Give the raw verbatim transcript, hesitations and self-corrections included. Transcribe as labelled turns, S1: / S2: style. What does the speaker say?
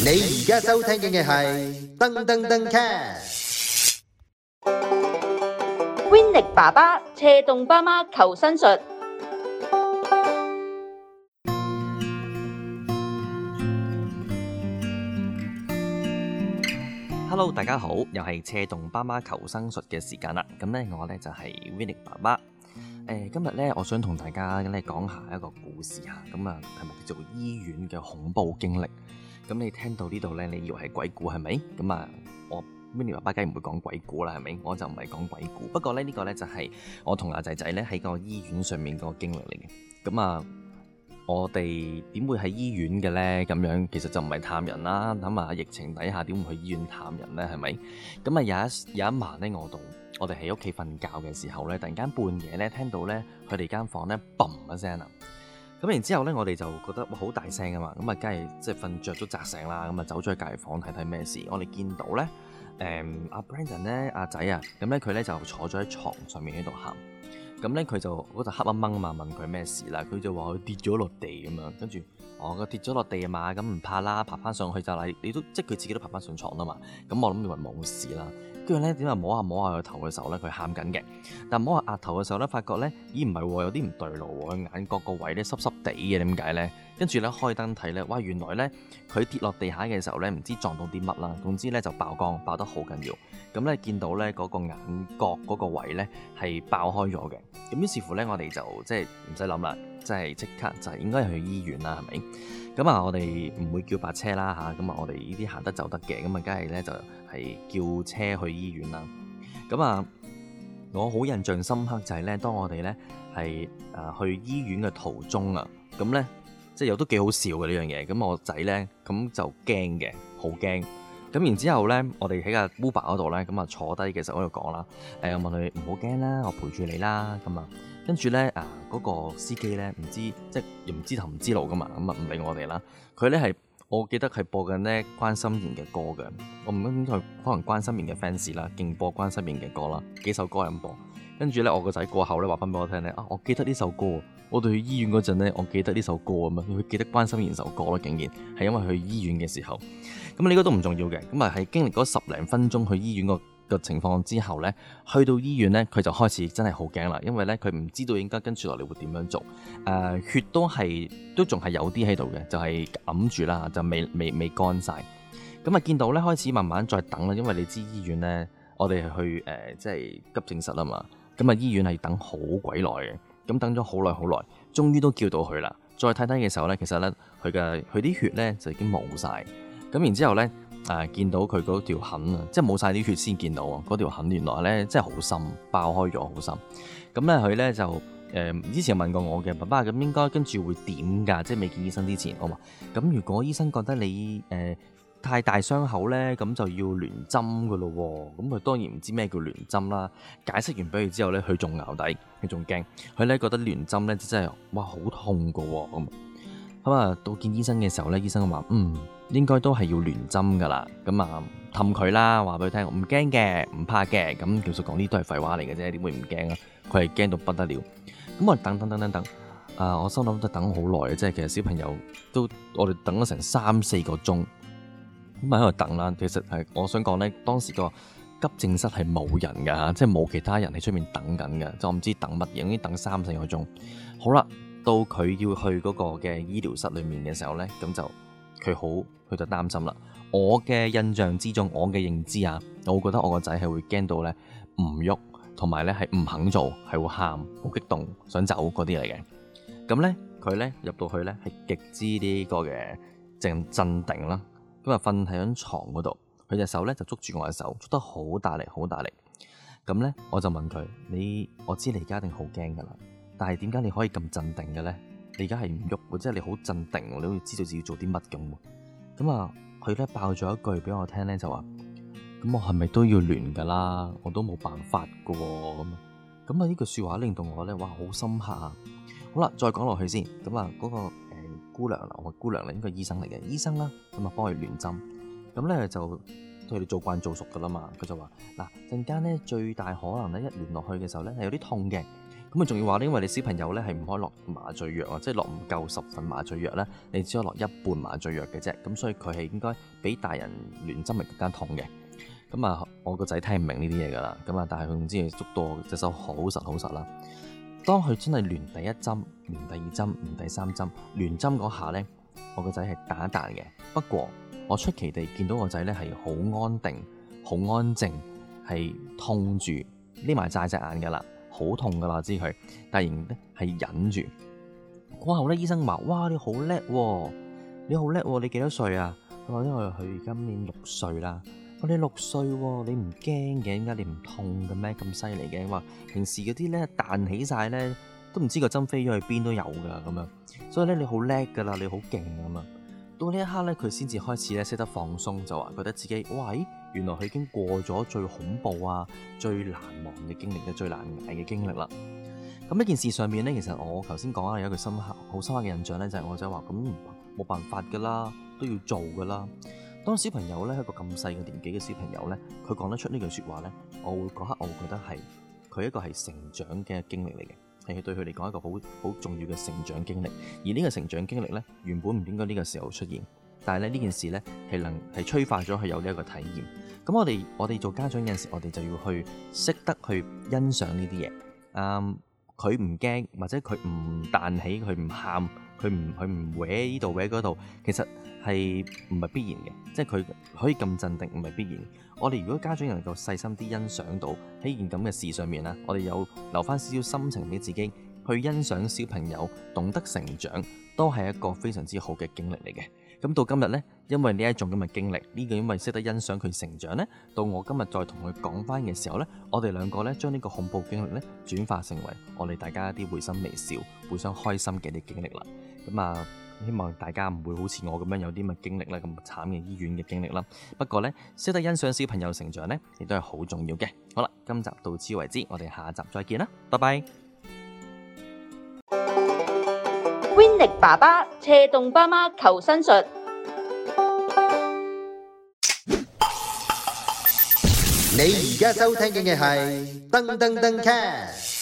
S1: 你而家收聽嘅係噔噔噔 cast。
S2: Winnie 爸爸斜動爸媽求生術。
S3: Hello， 大家好，又係斜動爸媽求生術嘅時間啦。咁咧，我咧就係 Winnie 爸爸。誒，今日咧，我想同大家咧講下一個故事嚇。咁啊，題目叫做醫院嘅恐怖經歷。咁你聽到呢度咧，你以為係鬼故係咪？咁啊，我 Winnie 爸爸梗係唔會講鬼故啦，係咪？我就唔係講鬼故。不過咧，呢個咧就係我同阿仔仔咧喺個醫院上面個經歷嚟嘅。咁啊，我哋點會喺醫院嘅咧？咁樣其實就唔係探人啦。諗下疫情底下點會去醫院探人咧？係咪？咁啊有一有一晚咧，我度我哋喺屋企瞓覺嘅時候咧，突然間半夜咧聽到咧佢哋間房咧嘣一聲啊！咁然之後咧，我哋就覺得好大聲啊嘛，咁啊，梗係即係瞓着都扎醒啦，咁啊走咗去隔離房睇睇咩事。我哋見到咧，誒阿 Brandon 咧，阿仔啊，咁咧佢咧就坐咗喺床上面喺度喊。咁咧佢就嗰陣黑掹掹啊嘛，問佢咩事啦，佢就話佢跌咗落地咁樣，跟住哦佢跌咗落地啊嘛，咁唔怕啦，爬翻上去就係你都即係佢自己都爬翻上床啦嘛。咁我諗以為冇事啦。跟住咧點解摸下摸下佢頭嘅時候咧，佢喊緊嘅。但摸下額頭嘅時候咧，發覺咧，咦唔係喎，有啲唔對路喎，佢眼角個位咧濕濕地嘅，點解咧？跟住咧開燈睇咧，哇原來咧佢跌落地下嘅時候咧，唔知撞到啲乜啦，總之咧就爆光，爆得好緊要。咁咧見到咧嗰個眼角嗰個位咧係爆開咗嘅。咁於是乎咧，我哋就即係唔使諗啦，即係即刻就係應該係去醫院啦，係咪？咁啊，我哋唔會叫白車啦嚇，咁啊，我哋呢啲行得走得嘅，咁啊，梗係咧就係叫車去醫院啦。咁啊，我好印象深刻就係咧，當我哋咧係誒去醫院嘅途中啊，咁咧即係又都幾好笑嘅呢樣嘢。咁我仔咧咁就驚嘅，好驚。咁然之後咧，我哋喺個 Uber 嗰度咧，咁啊坐低嘅時候喺度講啦，誒我問佢唔好驚啦，我陪住你啦，咁啊。跟住咧，啊嗰、那個司機咧，唔知即係又唔知頭唔知路噶嘛，咁啊唔理我哋啦。佢咧係，我記得係播緊咧關心妍嘅歌嘅。我唔知佢可能關心妍嘅 fans 啦，勁播關心妍嘅歌啦，幾首歌咁播。跟住咧，我個仔過後咧話翻俾我聽咧，啊我記得呢首歌，我哋去醫院嗰陣咧，我記得呢首歌咁啊，佢記得關心妍首歌咯，竟然係因為去醫院嘅時候。咁呢個都唔重要嘅，咁啊係經歷嗰十零分鐘去醫院個嘅情況之後呢，去到醫院呢，佢就開始真係好驚啦，因為呢，佢唔知道應該跟住落嚟會點樣做。誒、呃、血都係都仲係有啲喺度嘅，就係揞住啦，就未未未乾晒。咁啊見到呢，開始慢慢再等啦，因為你知醫院呢，我哋係去誒、呃、即係急症室啊嘛。咁啊醫院係等好鬼耐嘅，咁等咗好耐好耐，終於都叫到佢啦。再睇睇嘅時候呢，其實呢，佢嘅佢啲血呢，就已經冇晒。咁然之後呢。誒、啊、見到佢嗰條痕啊，即係冇晒啲血先見到啊！嗰條痕原來咧真係好深，爆開咗好深。咁咧佢咧就誒、呃、之前問過我嘅爸爸，咁應該跟住會點㗎？即係未見醫生之前，我話咁如果醫生覺得你誒、呃、太大傷口咧，咁就要聯針㗎咯喎。咁佢當然唔知咩叫聯針啦。解釋完俾佢之後咧，佢仲淆底，佢仲驚，佢咧覺得聯針咧真係哇好痛㗎喎咁。咁啊，到見醫生嘅時候咧，醫生話嗯。應該都係要聯針噶啦，咁啊氹佢啦，話俾佢聽，唔驚嘅，唔怕嘅，咁其實講啲都係廢話嚟嘅啫，點會唔驚啊？佢係驚到不得了，咁我等等等等等，啊，我心諗都等好耐嘅，即係其實小朋友都我哋等咗成三四個鐘，咁喺度等啦。其實係我想講咧，當時個急症室係冇人噶吓，即係冇其他人喺出面等緊嘅，就唔知等乜嘢，已經等三四個鐘。好啦，到佢要去嗰個嘅醫療室裏面嘅時候咧，咁就。佢好，佢就擔心啦。我嘅印象之中，我嘅認知啊，我會覺得我個仔係會驚到咧唔喐，同埋咧係唔肯做，係會喊，好激動，想走嗰啲嚟嘅。咁咧，佢咧入到去咧係極之呢個嘅靜鎮定啦。咁啊瞓喺張床嗰度，佢隻手咧就捉住我嘅手，捉得好大力，好大力。咁咧我就問佢：你我知你而家一定好驚噶啦，但係點解你可以咁鎮定嘅咧？你而家係唔喐喎，即係你好鎮定，你好似知道自己做啲乜咁喎。咁啊，佢咧爆咗一句俾我聽咧，就話：咁我係咪都要聯㗎啦？我都冇辦法㗎喎。咁啊，咁啊呢句説話令到我咧，哇，好深刻啊！好啦，再講落去先。咁啊，嗰個誒姑娘啦，我姑娘咧應該係醫生嚟嘅，醫生啦，咁啊幫佢聯針。咁咧就佢哋做慣做熟㗎啦嘛。佢就話：嗱陣間咧最大可能咧一聯落去嘅時候咧係有啲痛嘅。 咁啊仲要話咧，因為你小朋友咧係唔可以落麻醉藥啊，即係落唔夠十份麻醉藥咧，你只可以落一半麻醉藥嘅啫。咁所以佢係應該比大人亂針係更加痛嘅。咁啊，我個仔聽唔明呢啲嘢噶啦。咁啊，但係佢唔知佢捉到我隻手好實好實啦。當佢真係亂第一針、亂第二針、亂第三針、亂針嗰下咧，我個仔係彈一彈嘅。不過我出奇地見到個仔咧係好安定、好安靜，係痛住匿埋晒隻眼噶啦。好痛噶啦，知佢，但係仍然咧係忍住。過後咧，醫生話：哇，你好叻喎，你好叻喎，你幾多歲啊？佢話：因為佢今年六歲啦。我哋六歲喎，你唔驚嘅？點解你唔痛嘅咩？咁犀利嘅？話平時嗰啲咧彈起晒咧，都唔知個針飛咗去邊都有噶咁樣。所以咧，你好叻噶啦，你好勁咁啊！到呢一刻咧，佢先至開始咧識得放鬆，就話覺得自己，喂，原來佢已經過咗最恐怖啊、最難忘嘅經歷嘅最難捱嘅經歷啦。咁呢件事上面咧，其實我頭先講啊，有一個深刻、好深刻嘅印象咧，就係我就話咁冇辦法噶啦，都要做噶啦。當小朋友咧，一個咁細嘅年紀嘅小朋友咧，佢講得出呢句説話咧，我會嗰刻我會覺得係佢一個係成長嘅經歷嚟嘅。係對佢嚟講一個好好重要嘅成長經歷，而呢個成長經歷咧，原本唔應該呢個時候出現，但係咧呢件事咧係能係催化咗佢有呢一個體驗。咁我哋我哋做家長有陣時，我哋就要去識得去欣賞呢啲嘢。嗯，佢唔驚或者佢唔彈起，佢唔喊，佢唔佢唔搲呢度搲嗰度，其實係唔係必然嘅，即係佢可以咁鎮定，唔係必然。我哋如果家長能夠細心啲欣賞到喺件咁嘅事上面啦，我哋有留翻少少心情俾自己去欣賞小朋友懂得成長，都係一個非常之好嘅經歷嚟嘅。咁到今日呢，因為呢一種咁嘅經歷，呢個因為識得欣賞佢成長呢，到我今日再同佢講翻嘅時候呢，我哋兩個呢將呢個恐怖經歷呢轉化成為我哋大家一啲會心微笑、互相開心嘅啲經歷啦。咁啊〜希望大家唔會好似我咁樣有啲咁嘅經歷啦，咁慘嘅醫院嘅經歷啦。不過呢，識得欣賞小朋友成長呢，亦都係好重要嘅。好啦，今集到此為止，我哋下集再見啦，拜拜。
S2: Winnie 爸爸斜動爸媽求生術。
S1: 你而家收聽嘅係噔噔噔 cast。